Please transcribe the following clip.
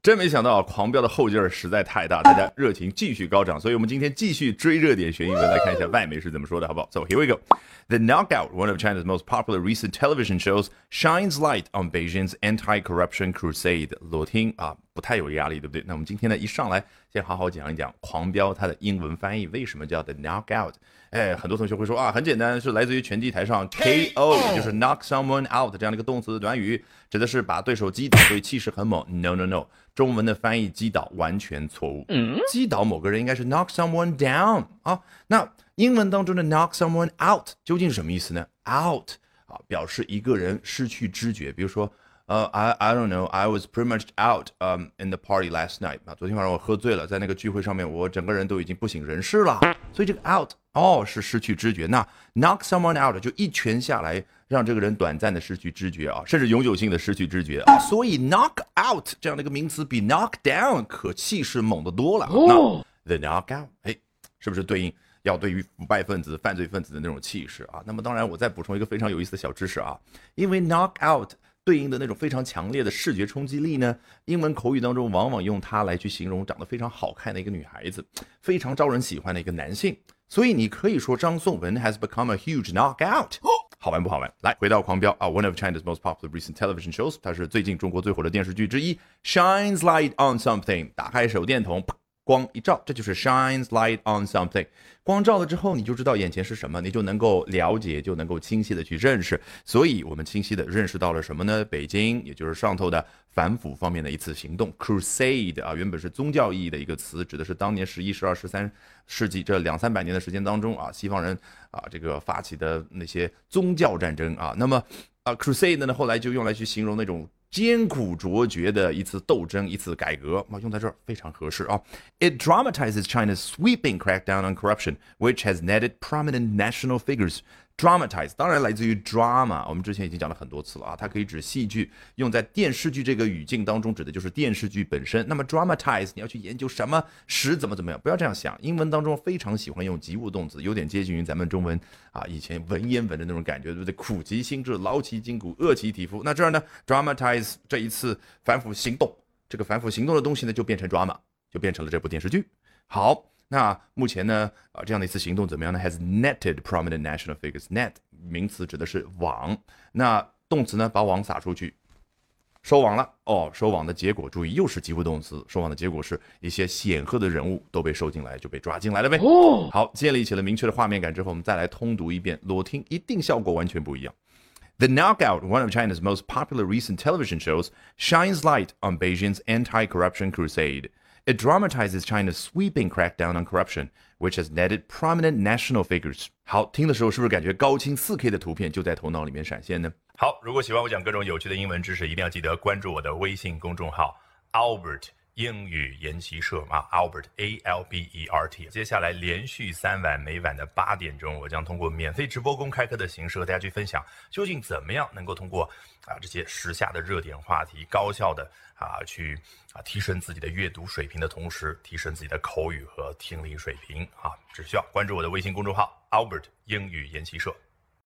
真没想到狂飙的后劲儿实在太大，大家热情继续高涨，所以我们今天继续追热点学英文，来看一下外媒是怎么说的，好不好 ？So here we go. The Knockout, one of China's most popular recent television shows, shines light on Beijing's anti-corruption crusade. 裸听啊，不太有压力，对不对？那我们今天呢，一上来先好好讲一讲狂飙它的英文翻译，为什么叫 The Knockout？ 哎，很多同学会说啊，很简单，是来自于拳击台上 KO， 就是 knock someone out 这样的一个动词短语，指的是把对手击倒，所以气势很猛。No， 中文的翻译击倒完全错误。击倒某个人应该是 knock someone down 啊。那英文当中的 knock someone out 究竟是什么意思呢 ？out 啊，表示一个人失去知觉，比如说。I don't know. I was pretty much out in the party last night. 啊，昨天晚上我喝醉了，在那个聚会上面，我整个人都已经不省人事了。所以这个 out 是失去知觉。那 knock someone out 就一拳下来，让这个人短暂的失去知觉啊，甚至永久性的失去知觉啊。所以 knock out 这样的一个名词比 knock down 可气势猛得多了。那 the knockout， 是不是对应？要对于腐败分子、犯罪分子的那种气势啊？那么当然，我再补充一个非常有意思的小知识啊，因为 knock out。对应的那种非常强烈的视觉冲击力呢，英文口语当中往往用它来去形容长得非常好看的一个女孩子，非常招人喜欢的一个男性。所以你可以说张颂文 has become a huge knockout。好玩不好玩？来，回到狂飙啊 ，one of China's most popular recent television shows， 它是最近中国最火的电视剧之一 ，shines light on something， 打开手电筒。光一照，这就是 shines light on something。光照了之后，你就知道眼前是什么，你就能够了解，就能够清晰的去认识。所以我们清晰的认识到了什么呢？北京，也就是上头的反腐方面的一次行动 ，crusade 啊，原本是宗教意义的一个词，指的是当年11、12、13世纪这200-300年的时间当中啊，西方人啊这个发起的那些宗教战争啊。那么crusade 呢，后来就用来去形容那种。艰苦卓绝的一次斗争，一次改革，用在这儿非常合适啊。It dramatizes China's sweeping crackdown on corruption, which has netted prominent national figures. Dramatize 当然来自于 drama， 我们之前已经讲了很多次了啊，它可以指戏剧，用在电视剧这个语境当中，指的就是电视剧本身。那么 dramatize 你要去研究什么使怎么样，不要这样想。英文当中非常喜欢用及物动词，有点接近于咱们中文啊以前文言文的那种感觉，对不对？苦其心志，劳其筋骨，饿其体肤。那这儿呢 ，dramatize 这一次反腐行动，这个反腐行动的东西呢，就变成 drama， 就变成了这部电视剧。好。那目前呢，这样的一次行动怎么样呢 ？Has netted prominent national figures. Net 名词指的是网，那动词呢，把网撒出去，收网了。收网的结果，注意又是及物动词，收网的结果是一些显赫的人物都被收进来，就被抓进来了呗。好，建立起了明确的画面感之后，我们再来通读一遍，裸听一定效果完全不一样。The Knockout, one of China's most popular recent television shows, shines light on Beijing's anti-corruption crusade.It dramatizes China's sweeping crackdown on corruption, which has netted prominent national figures. 好，听的时候是不是感觉高清 4K 的图片就在头脑里面闪现呢？好，如果喜欢我讲各种有趣的英文知识，一定要记得关注我的微信公众号 Albert 英语研习社啊 ，Albert ALBERT。接下来连续3晚，每晚的8点钟，我将通过免费直播公开课的形式和大家去分享，究竟怎么样能够通过这些时下的热点话题，高效的去提升自己的阅读水平的同时，提升自己的口语和听力水平啊，只需要关注我的微信公众号 Albert 英语研习社。